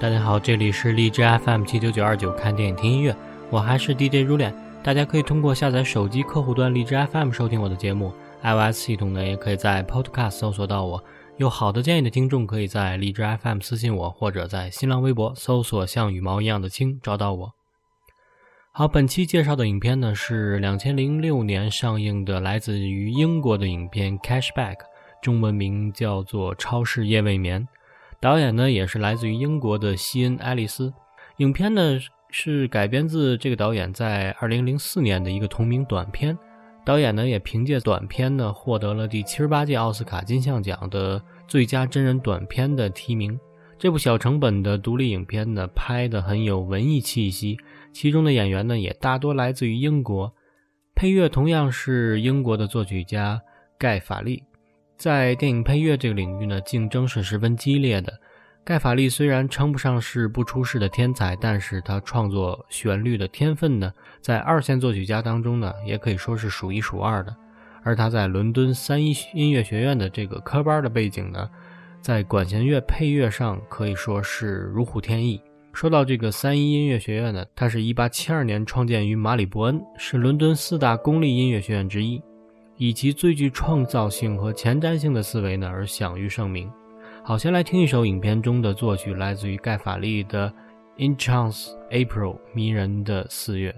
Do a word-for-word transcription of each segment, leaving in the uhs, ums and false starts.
大家好，这里是荔枝 F M 七九九二九看电影听音乐，我还是 D J 如脸。大家可以通过下载手机客户端荔枝 F M 收听我的节目， iOS 系统呢也可以在 Podcast 搜索到我。有好的建议的听众可以在荔枝 F M 私信我，或者在新浪微博搜索像羽毛一样的青找到我。好，本期介绍的影片呢是二零零六年上映的来自于英国的影片 Cashback， 中文名叫做超市夜未眠，导演呢也是来自于英国的西恩·爱丽丝。影片呢是改编自这个导演在二零零四年的一个同名短片，导演呢也凭借短片呢获得了第七十八届奥斯卡金像奖的最佳真人短片的提名。这部小成本的独立影片呢拍得很有文艺气息，其中的演员呢也大多来自于英国，配乐同样是英国的作曲家盖法利。在电影配乐这个领域呢，竞争是十分激烈的。盖法利虽然称不上是不出世的天才，但是他创作旋律的天分呢，在二线作曲家当中呢，也可以说是数一数二的。而他在伦敦三一音乐学院的这个科班的背景呢，在管弦乐配乐上可以说是如虎添翼。说到这个三一音乐学院呢，它是一八七二年创建于马里伯恩，是伦敦四大公立音乐学院之一，以其最具创造性和前瞻性的思维呢而享誉盛名。好，先来听一首影片中的作曲，来自于盖法利的 Enchants April， 迷人的四月。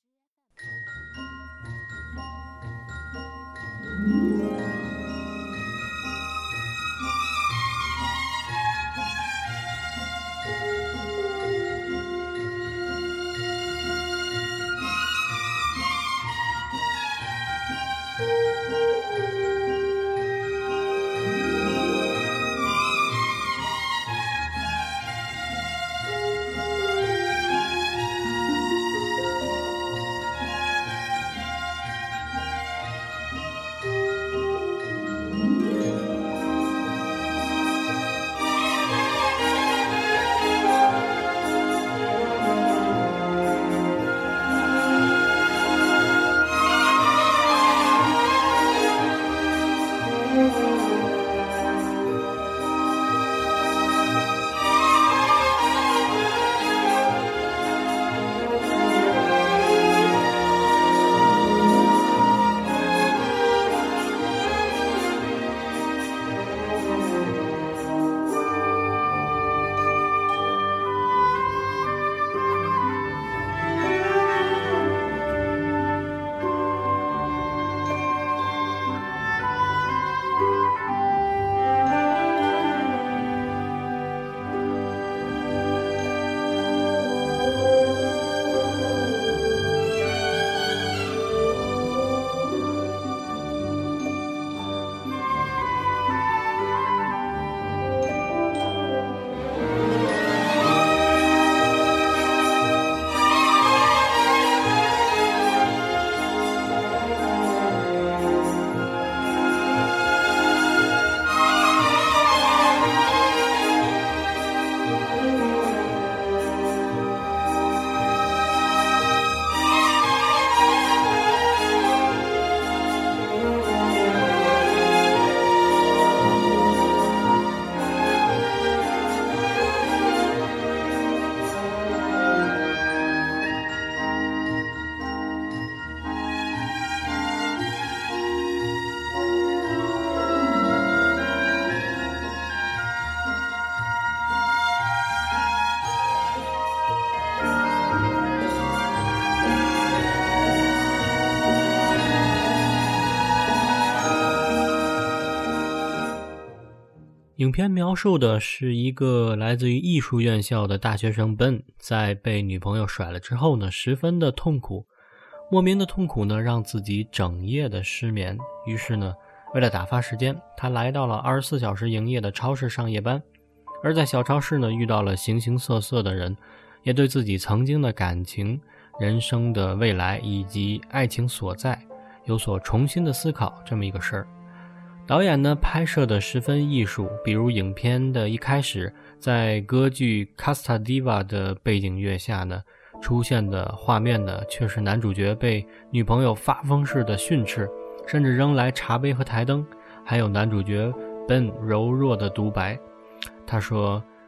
影片描述的是一个来自于艺术院校的大学生 Ben， 在被女朋友甩了之后呢，十分的痛苦，莫名的痛苦呢，让自己整夜的失眠。于是呢，为了打发时间，他来到了二十四小时营业的超市上夜班。而在小超市呢，遇到了形形色色的人，也对自己曾经的感情、人生的未来以及爱情所在有所重新的思考，这么一个事儿。导演呢拍摄的十分艺术，比如影片的一开始，在歌剧 Casta Diva 的背景乐下呢，出现的画面呢却是男主角被女朋友发疯似的训斥，甚至扔来茶杯和台灯，还有男主角 Ben 柔弱的独白。他说，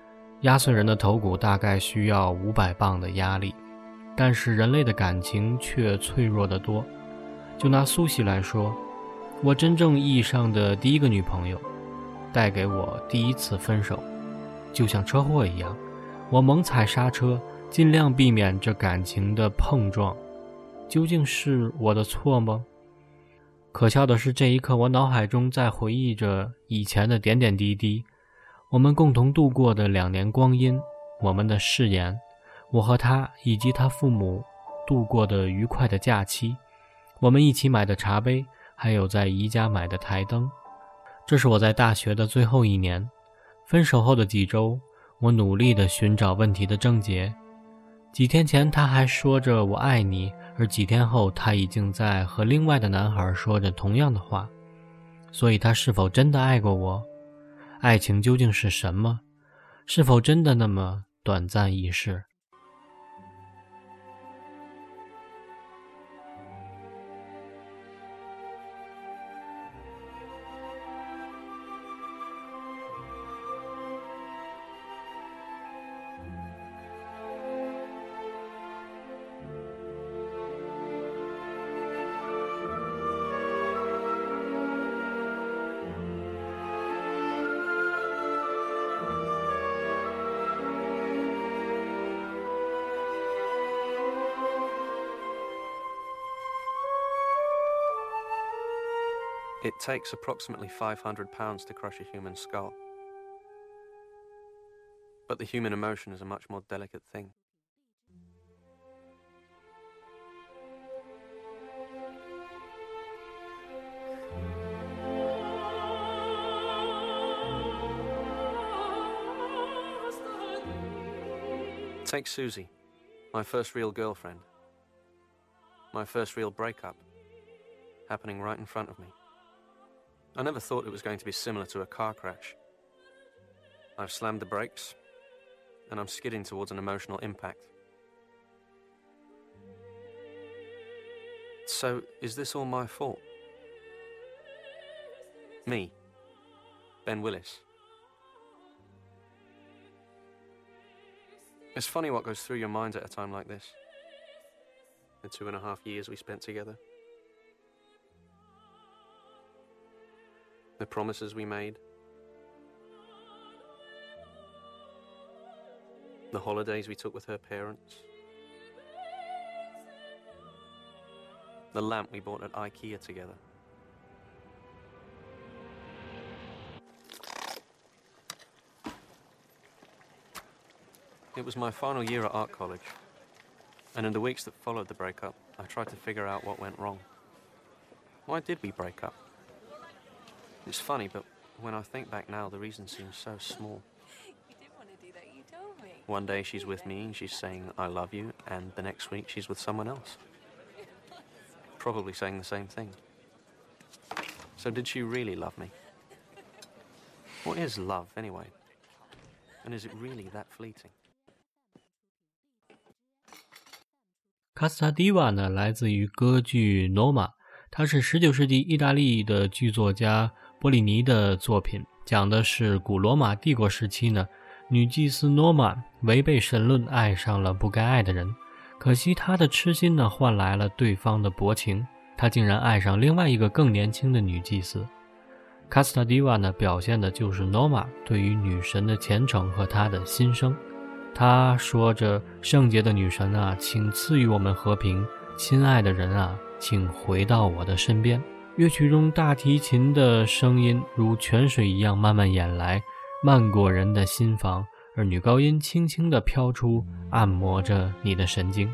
压碎人的头骨大概需要五百磅的压力，但是人类的感情却脆弱得多。就拿苏西来说，我真正意义上的第一个女朋友，带给我第一次分手，就像车祸一样，我猛踩刹车，尽量避免这感情的碰撞。究竟是我的错吗？可笑的是，这一刻我脑海中在回忆着以前的点点滴滴，我们共同度过的两年光阴，我们的誓言，我和他以及他父母度过的愉快的假期，我们一起买的茶杯，还有在宜家买的台灯。这是我在大学的最后一年，分手后的几周，我努力地寻找问题的症结。几天前他还说着我爱你，而几天后他已经在和另外的男孩说着同样的话。所以他是否真的爱过我？爱情究竟是什么？是否真的那么短暂易逝 ？It takes approximately five hundred pounds to crush a human skull. But the human emotion is a much more delicate thing. Take Susie, my first real girlfriend. My first real breakup, happening right in front of me. I never thought it was going to be similar to a car crash. I've slammed the brakes, and I'm skidding towards an emotional impact. So, is this all my fault? Me, Ben Willis. It's funny what goes through your mind at a time like this. The two and a half years we spent together. The promises we made. The holidays we took with her parents. The lamp we bought at IKEA together. It was my final year at art college, and in the weeks that followed the breakup, I tried to figure out what went wrong. Why did we break up? It's funny, but when I think back now, the reason seems so small. You didn't want to do that, you told me. One day she's with me and she's saying, I love you, and the next week she's with someone else. Probably saying the same thing. So did she really love me? What is love, anyway? And is it really that fleeting? 卡斯塔迪瓦呢，来自于歌剧《罗马》，它是十九世纪意大利的剧作家波利尼的作品，讲的是古罗马帝国时期呢，女祭司诺玛违背神论，爱上了不该爱的人。可惜她的痴心呢，换来了对方的薄情，她竟然爱上另外一个更年轻的女祭司。卡斯塔迪瓦呢，表现的就是诺玛对于女神的虔诚和她的心声。她说着：“圣洁的女神啊，请赐予我们和平，亲爱的人啊，请回到我的身边。”乐曲中大提琴的声音如泉水一样慢慢演来，漫过人的心房，而女高音轻轻地飘出，按摩着你的神经。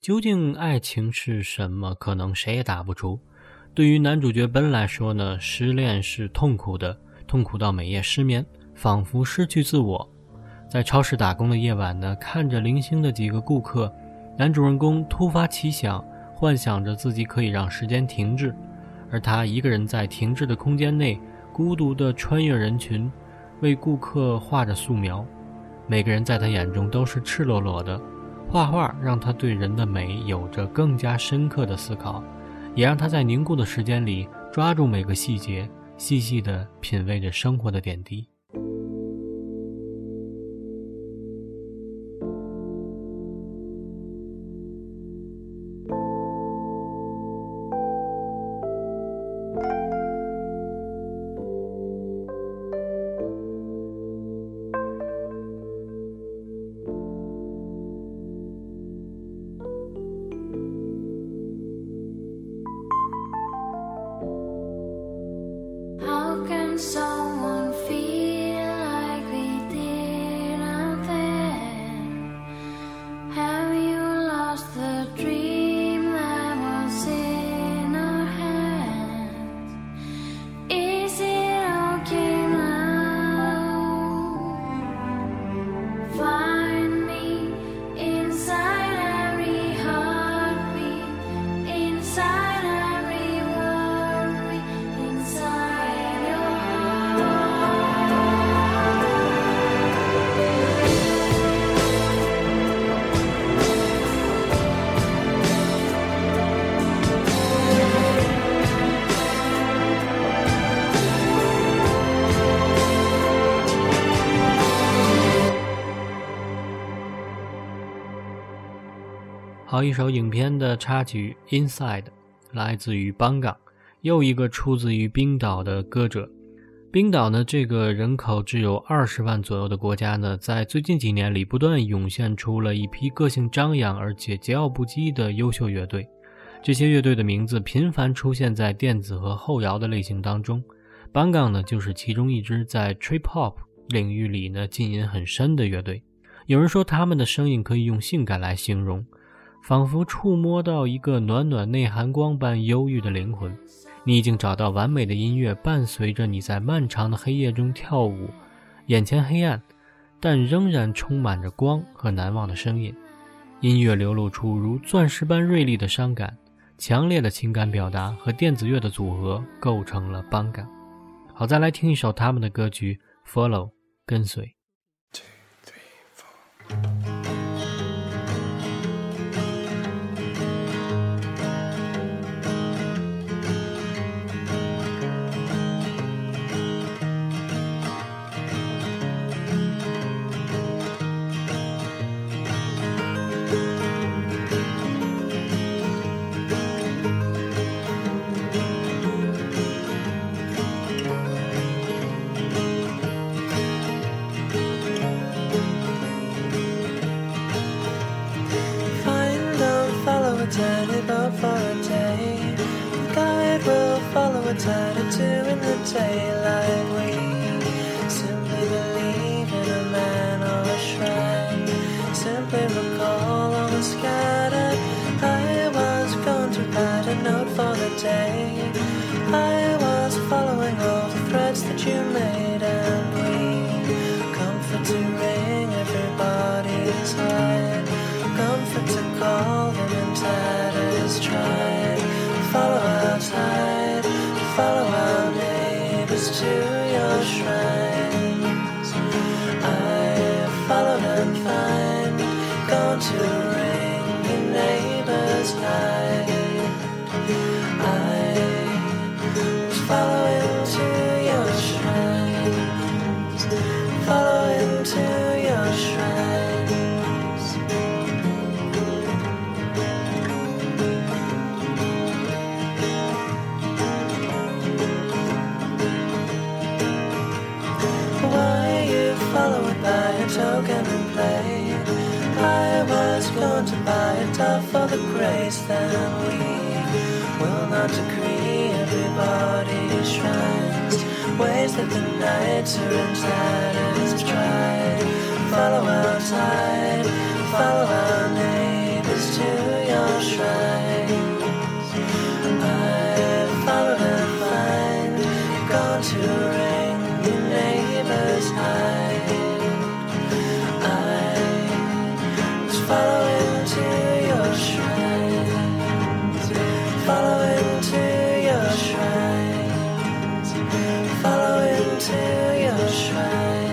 究竟爱情是什么，可能谁也答不出。对于男主角奔来说呢，失恋是痛苦的，痛苦到每夜失眠，仿佛失去自我。在超市打工的夜晚呢，看着零星的几个顾客，男主人公突发奇想，幻想着自己可以让时间停滞，而他一个人在停滞的空间内孤独地穿越人群，为顾客画着素描。每个人在他眼中都是赤裸裸的，画画让他对人的美有着更加深刻的思考，也让他在凝固的时间里抓住每个细节，细细地品味着生活的点滴。 Someone feel like we did out there? Have you lost the dream that was in our hands? Is it okay now? Find me inside every heartbeat, inside every worry, inside your heart。好，一首影片的插曲 Inside 来自于邦港，又一个出自于冰岛的歌者。冰岛呢，这个人口只有二十万左右的国家呢，在最近几年里不断涌现出了一批个性张扬而且桀骜不羁的优秀乐队。这些乐队的名字频繁出现在电子和后摇的类型当中，邦港呢就是其中一支在 Trip Hop 领域里呢浸淫很深的乐队。有人说他们的声音可以用性感来形容，仿佛触摸到一个暖暖内含光般忧郁的灵魂。你已经找到完美的音乐，伴随着你在漫长的黑夜中跳舞，眼前黑暗，但仍然充满着光和难忘的声音。音乐流露出如钻石般锐利的伤感，强烈的情感表达和电子乐的组合构成了邦港。好，再来听一首他们的歌曲 Follow 跟随。 Tiny boat for a day. The guide will follow a tide or two in the daylight. We simply believe in a man or a shrine. Simply recall all the scattered. I was going to write a note for the day. I was following all the threads that you made, and we comfort to ring everybody's heart. Comfort to call them in tatters, tried. Follow our tide, follow our neighbors to your shrines. I followed and find, gone to ring your neighbor's night. I was following to your shrines, following to your shrines. Token and played. I was going to buy a dove for the grace, then we will not decree everybody's shrines. Ways that the nights are in tatters tried. Follow our tide, follow our neighbors to your your shrines. I followed and find gone to ring your neighbor's hide. I was following to your shrines, following to your shrines, following to your shrines.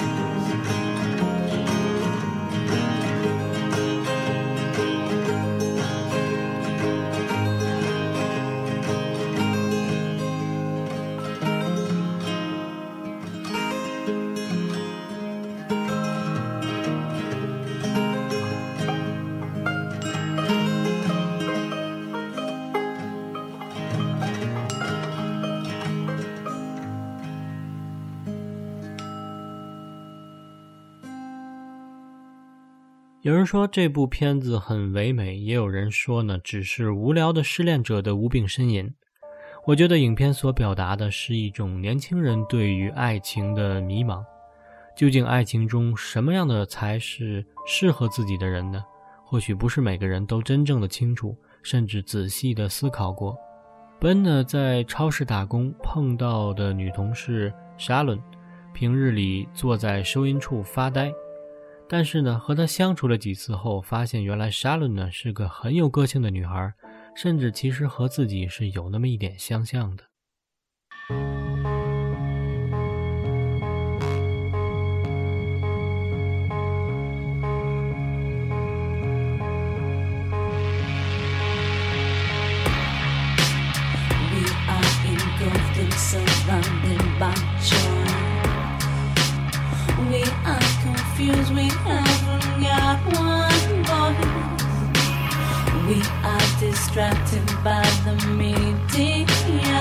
有人说这部片子很唯美，也有人说呢，只是无聊的失恋者的无病呻吟。我觉得影片所表达的是一种年轻人对于爱情的迷茫，究竟爱情中什么样的才是适合自己的人呢？或许不是每个人都真正的清楚，甚至仔细的思考过。本呢在超市打工碰到的女同事沙伦，平日里坐在收银处发呆，但是呢和她相处了几次后，发现原来沙伦呢是个很有个性的女孩，甚至其实和自己是有那么一点相像的。 Surrounded by joy, we are confused, we haven't got one voice. We are distracted by the media,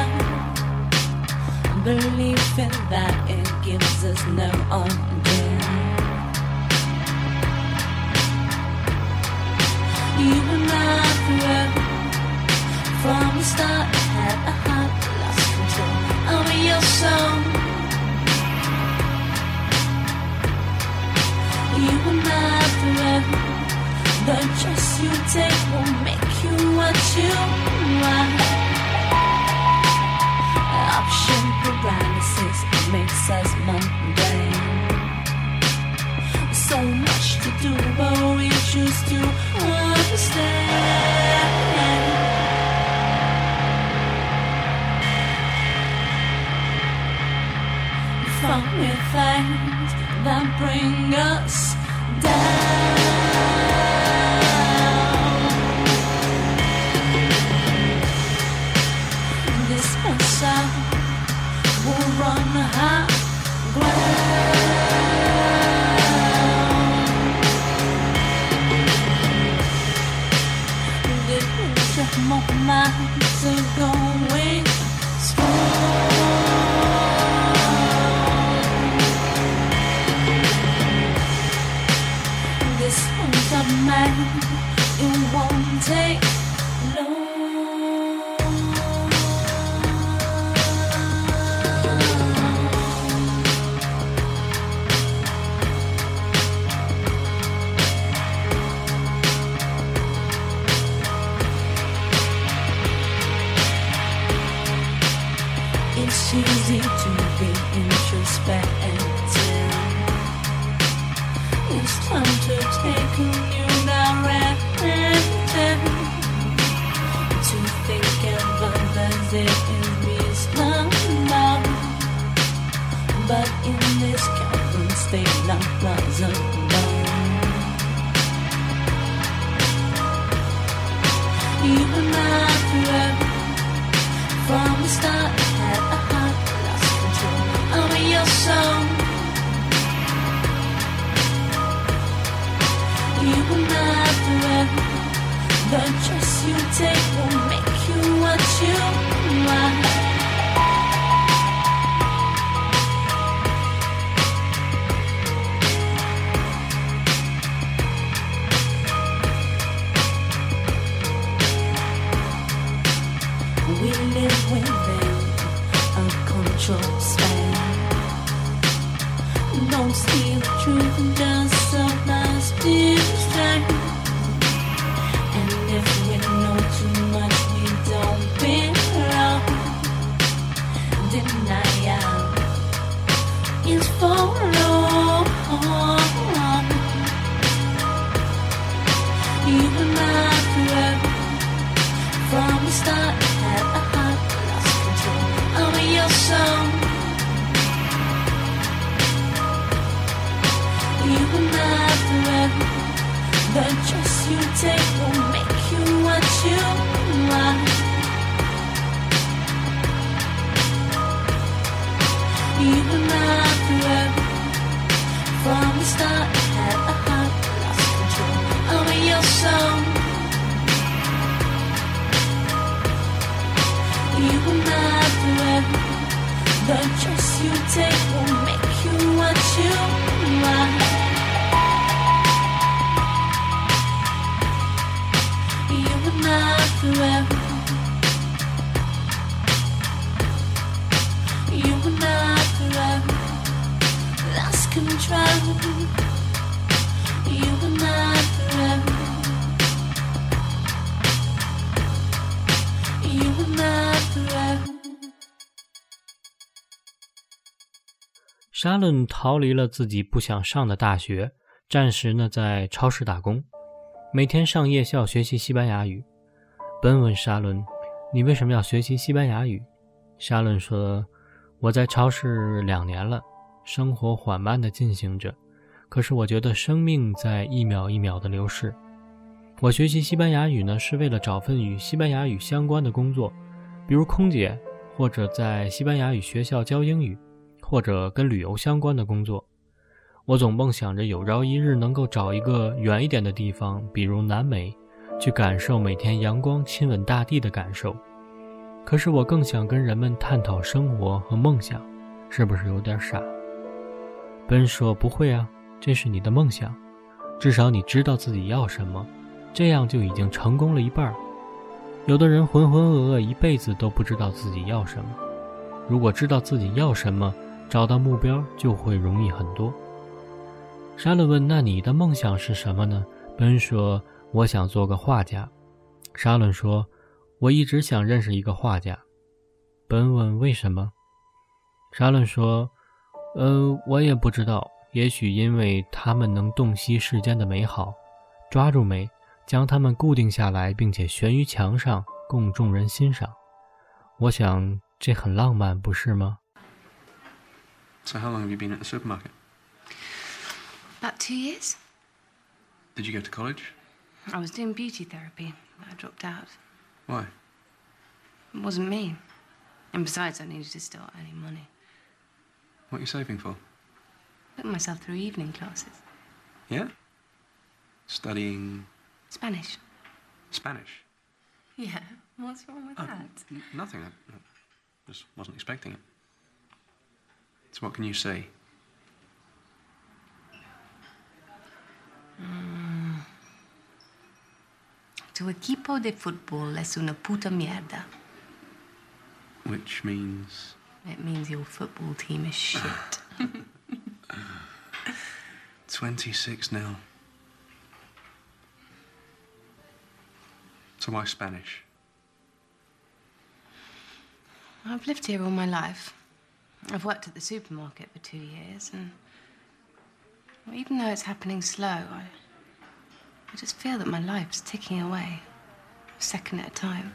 believing that it gives us no idea. You and I were from the start had a heart lost control over your soul. You and I forever. The dress you take will make you what you are. Option paralysis makes us mundane. So much to do, but we choose to understand. Fun with things that bring us down. This message will run high ground. The picture of minds are going strong. This one's a man, it won't take long. It's easy to be introspective. It's time to take a new direction. To think of others is reasonable, but in this current state, not plausible. Even after from the start, had a heart lost control over your soul. You and I forever. The dress you take will make you what you are. We live within a control span. Don't steal the truth, just so nice to strength. And if we You were not forever. From the start, I had a heart that lost control over your soul. You were not forever. The dress you take will make you what you are. You were not forever. You were not forever. Lost control. You were not forever. You were not forever. 沙伦逃离了自己不想上的大学，暂时呢在超市打工，每天上夜校学习西班牙语。本问沙伦：“你为什么要学习西班牙语？”沙伦说：“我在超市两年了，生活缓慢地进行着，可是我觉得生命在一秒一秒地流逝。我学习西班牙语呢，是为了找份与西班牙语相关的工作，比如空姐，或者在西班牙语学校教英语，或者跟旅游相关的工作。我总梦想着有朝一日能够找一个远一点的地方，比如南美，去感受每天阳光亲吻大地的感受。可是我更想跟人们探讨生活和梦想，是不是有点傻？”奔说：“不会啊，这是你的梦想，至少你知道自己要什么，这样就已经成功了一半。有的人浑浑噩噩一辈子都不知道自己要什么，如果知道自己要什么，找到目标就会容易很多。”沙伦问：“那你的梦想是什么呢？”奔说：“我想做个画家。”沙伦说：“我一直想认识一个画家。”奔问：“为什么？”沙伦说：“呃，我也不知道，也许因为他们能洞悉世间的美好，抓住美，将它们固定下来，并且悬于墙上，供众人欣赏。我想这很浪漫，不是吗？” So how long have you been at the supermarket? About two years. Did you go to college? I was doing beauty therapy, but I dropped out. Why? It wasn't me. And besides, I needed to start earning money. What are you saving for? Putting myself through evening classes. Yeah? Studying Spanish. Spanish? Yeah, what's wrong with Oh, that? n- nothing. I, I just wasn't expecting it. So what can you say? Mm. Tu equipo de fútbol es una puta mierda. Which means... It means your football team is shit. twenty-six nil. So why Spanish? I've lived here all my life. I've worked at the supermarket for two years, and well, even though it's happening slow, I, I just feel that my life's ticking away, a second at a time.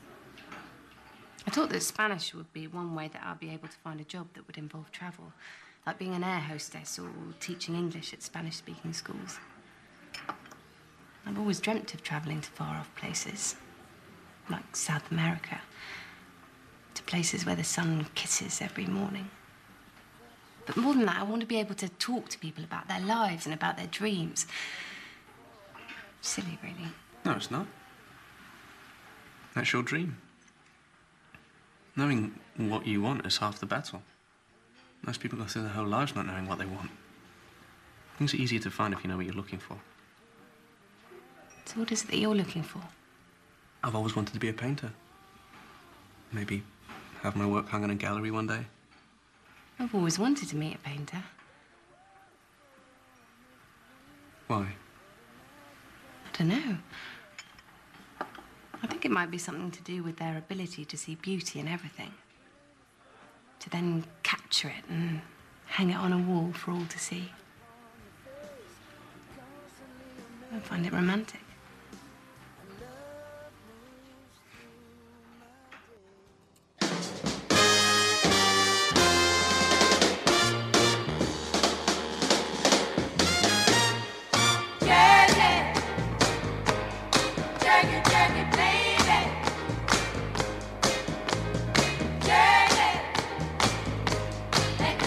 I thought that Spanish would be one way that I'd be able to find a job that would involve travel, like being an air hostess or teaching English at Spanish-speaking schools. I've always dreamt of travelling to far-off places, like South America, to places where the sun kisses every morning. But more than that, I want to be able to talk to people about their lives and about their dreams. Silly, really. No, it's not. That's your dream. Knowing what you want is half the battle. Most people go through their whole lives not knowing what they want. Things are easier to find if you know what you're looking for. So what is it that you're looking for? I've always wanted to be a painter. Maybe have my work hung in a gallery one day. I've always wanted to meet a painter. Why? I don't know. I think it might be something to do with their ability to see beauty in everything. To then capture it and hang it on a wall for all to see. I find it romantic. Let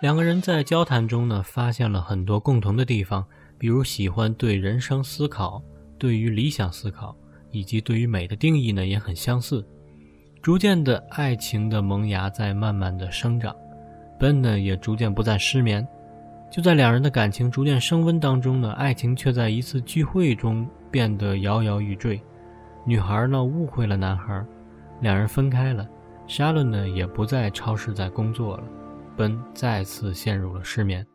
两个人在交谈中呢，发现了很多共同的地方，比如喜欢对人生思考，对于理想思考，以及对于美的定义呢也很相似。逐渐的，爱情的萌芽在慢慢的生长， Ben 呢也逐渐不再失眠。就在两人的感情逐渐升温当中呢，爱情却在一次聚会中变得摇摇欲坠。女孩呢误会了男孩，两人分开了。沙伦呢也不在超市在工作了， Ben 再次陷入了失眠。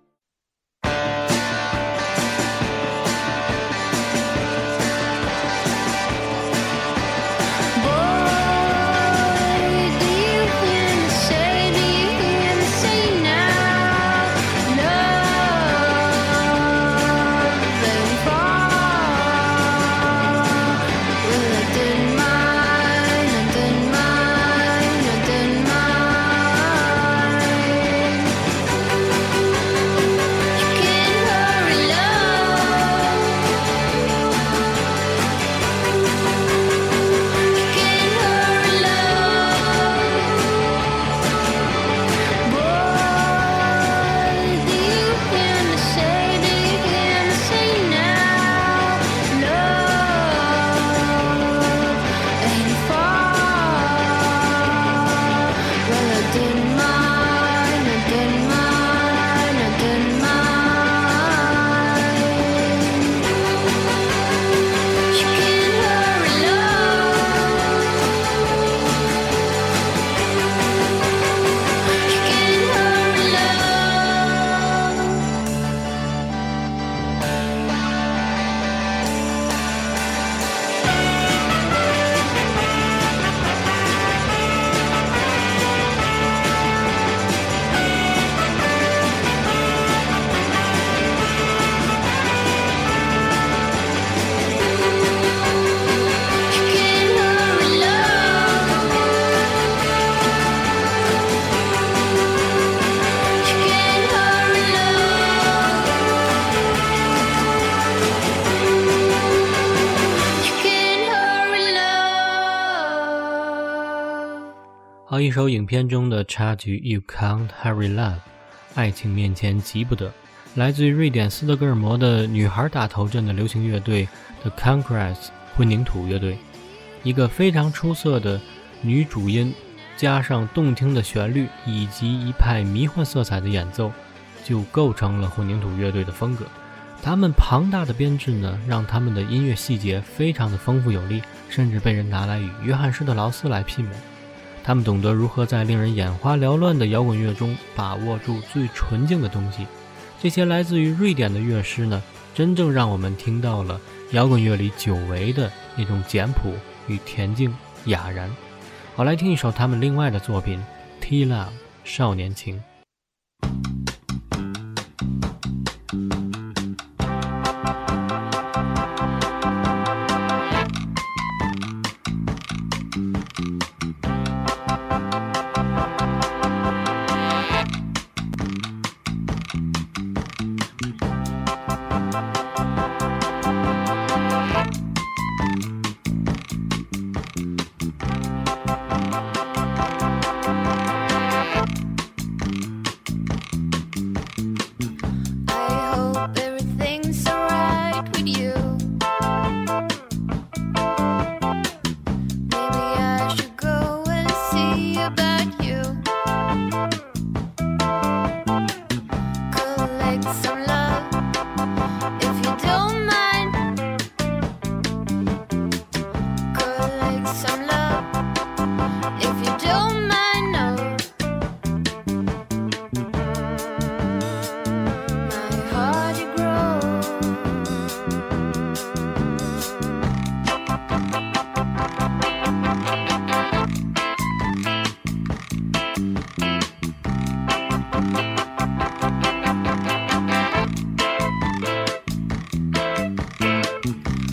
好，一首影片中的插曲 You Can't Hurry Love， 爱情面前急不得，来自于瑞典斯德哥尔摩的女孩打头阵的流行乐队 The Concretes 混凝土乐队。一个非常出色的女主音加上动听的旋律以及一派迷幻色彩的演奏，就构成了混凝土乐队的风格。他们庞大的编制呢，让他们的音乐细节非常的丰富有力，甚至被人拿来与约翰施特劳斯来媲美。他们懂得如何在令人眼花缭乱的摇滚乐中把握住最纯净的东西。这些来自于瑞典的乐师呢，真正让我们听到了摇滚乐里久违的那种简朴与恬静雅然。好，来听一首他们另外的作品 Tea Love 少年情。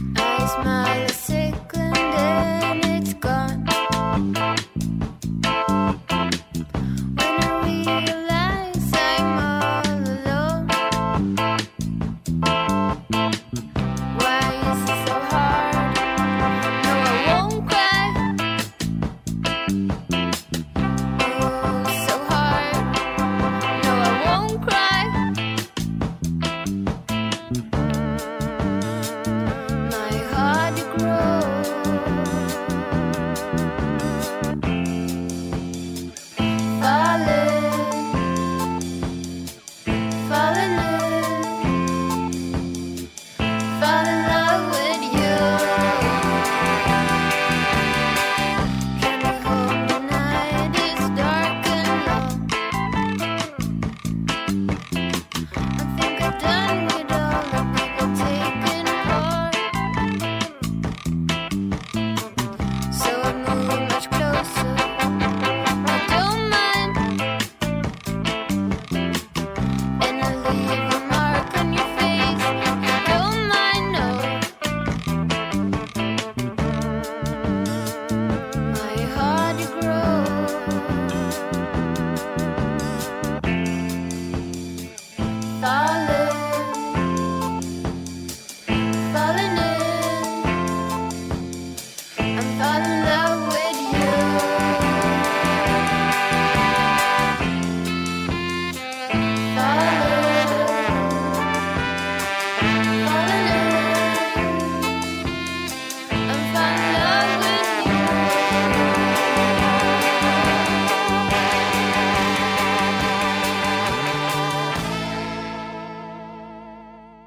Smile a second and it's gone.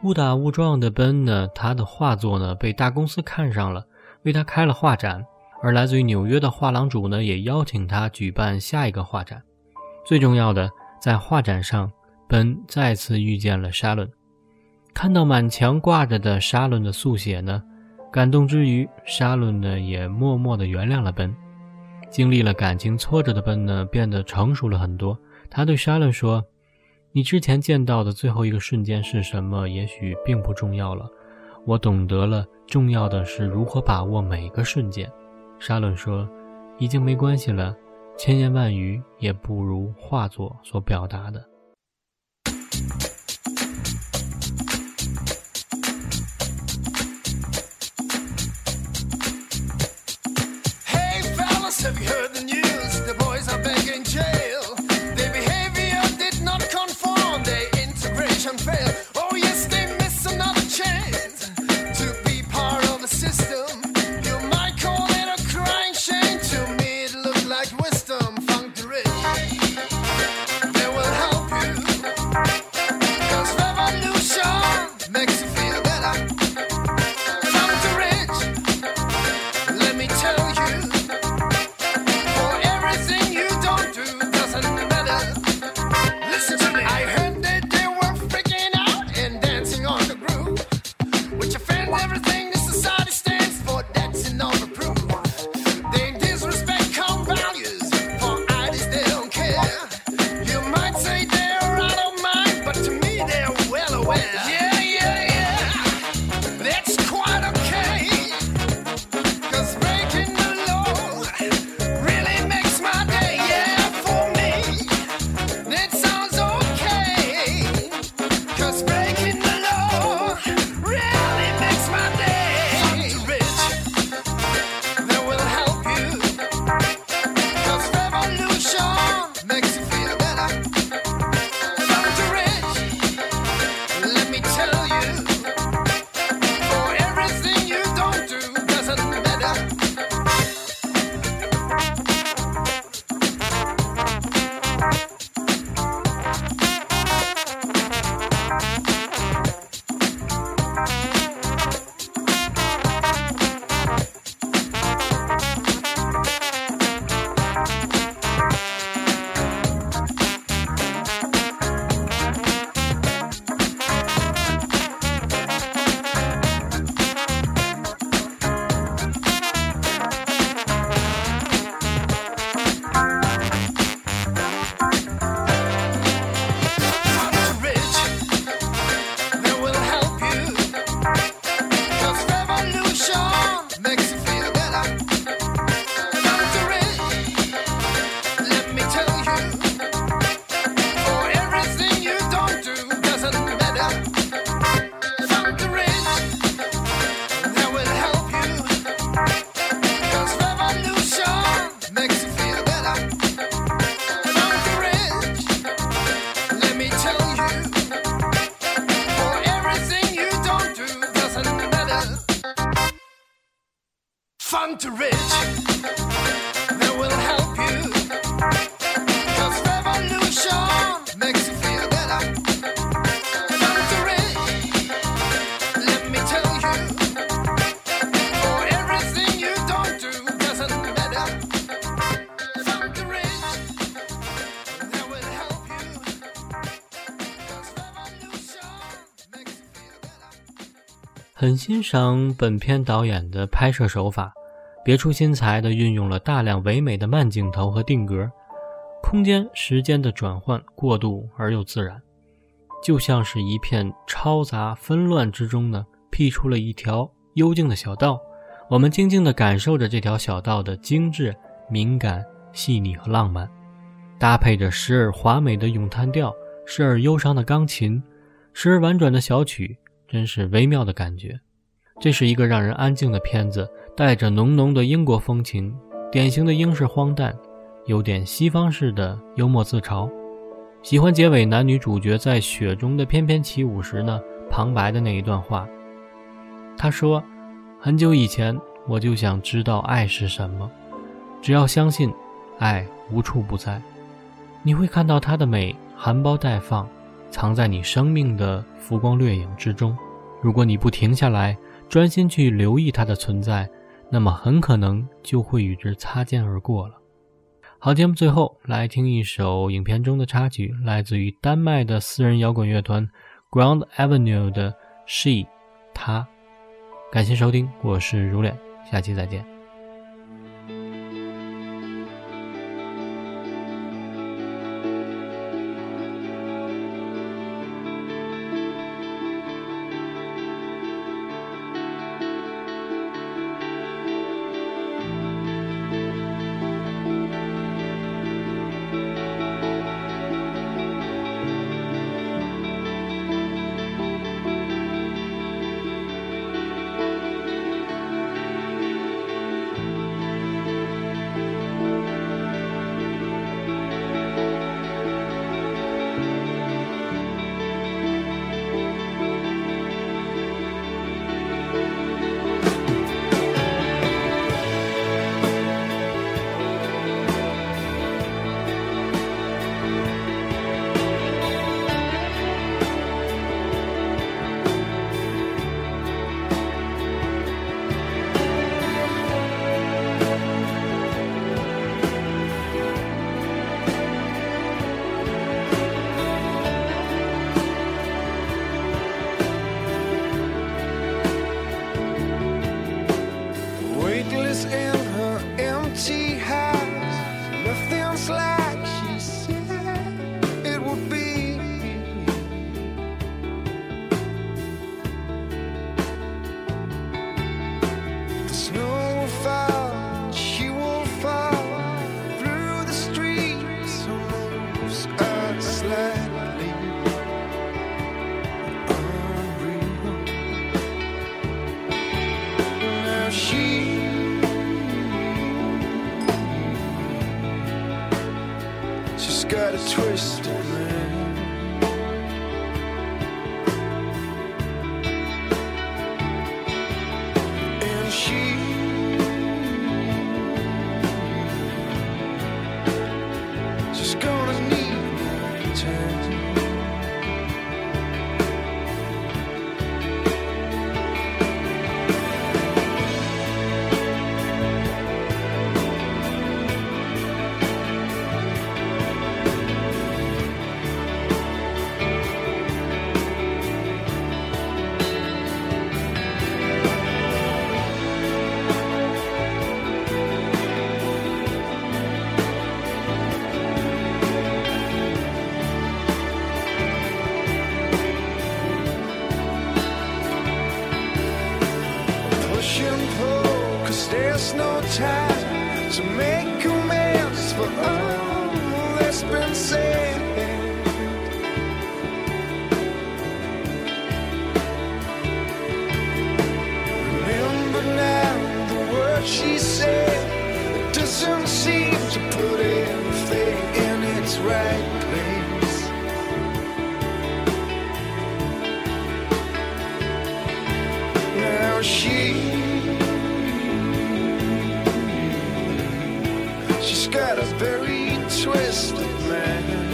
误打误撞的奔呢，他的画作呢被大公司看上了，为他开了画展，而来自于纽约的画廊主呢也邀请他举办下一个画展。最重要的，在画展上，奔再次遇见了沙伦。看到满墙挂着的沙伦的速写呢，感动之余，沙伦呢也默默地原谅了奔。经历了感情挫折的奔呢，变得成熟了很多。他对沙伦说，你之前见到的最后一个瞬间是什么，也许并不重要了，我懂得了，重要的是如何把握每个瞬间。沙伦说，已经没关系了，千言万语也不如画作所表达的。 Have you heard the news? The boys are back in jail. Their behavior did not conform, their integration failed. Oh yes, they miss another chance to be part of the system. You might call it a crying shame. To me it looked like wisdom. Funk the rich, they will help you, 'cause revolution makes you feel better. Funk the rich, let me tell you, everything this society stands for, that's enough of proof. They disrespect core values, for ideas they don't care. You might say they're out of mind, but to me they're well aware. Yeah, yeah, yeah, that's quite okay, 'cause breaking the law really makes my day. Yeah, for me, that sounds okay, 'cause breaking the law really makes my day. Funk the rich, that will help you, 'cause revolution makes you feel better. Funk the rich, let me tell you, for everything you don't do doesn't matter. Funk the rich, that will help you, 'cause revolution makes you feel better. Funk the rich, let me tell you, for everything you don't do doesn't matter. Funk the rich, that will help you, 'cause revolution makes you feel better. 很欣赏本片导演的拍摄手法，别出心裁地运用了大量唯美的慢镜头和定格，空间时间的转换过渡而又自然，就像是一片嘈杂纷乱之中呢，辟出了一条幽静的小道，我们静静地感受着这条小道的精致、敏感、细腻和浪漫，搭配着时而华美的咏叹调，时而忧伤的钢琴，时而婉转的小曲，真是微妙的感觉。这是一个让人安静的片子，带着浓浓的英国风情，典型的英式荒诞，有点西方式的幽默自嘲。喜欢结尾男女主角在雪中的翩翩起舞时呢，旁白的那一段话。他说，很久以前我就想知道爱是什么，只要相信，爱无处不在。你会看到它的美含苞待放， 藏在你生命的浮光掠影之中。如果你不停下来，专心去留意它的存在，那么很可能就会与之擦肩而过了。好，节目最后来听一首影片中的插曲，来自于丹麦的私人摇滚乐团 Ground Avenue 的 She 她。感谢收听，我是如脸，下期再见。 Weightless in her empty house, nothing's like she said it would be. The snow will fall, she will fall through the streets, almost uh, slightly unreal. Now she She's got a twisted man, and she she's gonna need time. Push and pull, 'cause there's no time to make amends for all that's been said. Remember now the words she said, it doesn't seem to put everything in its right place. Now she She's got a very twisted man.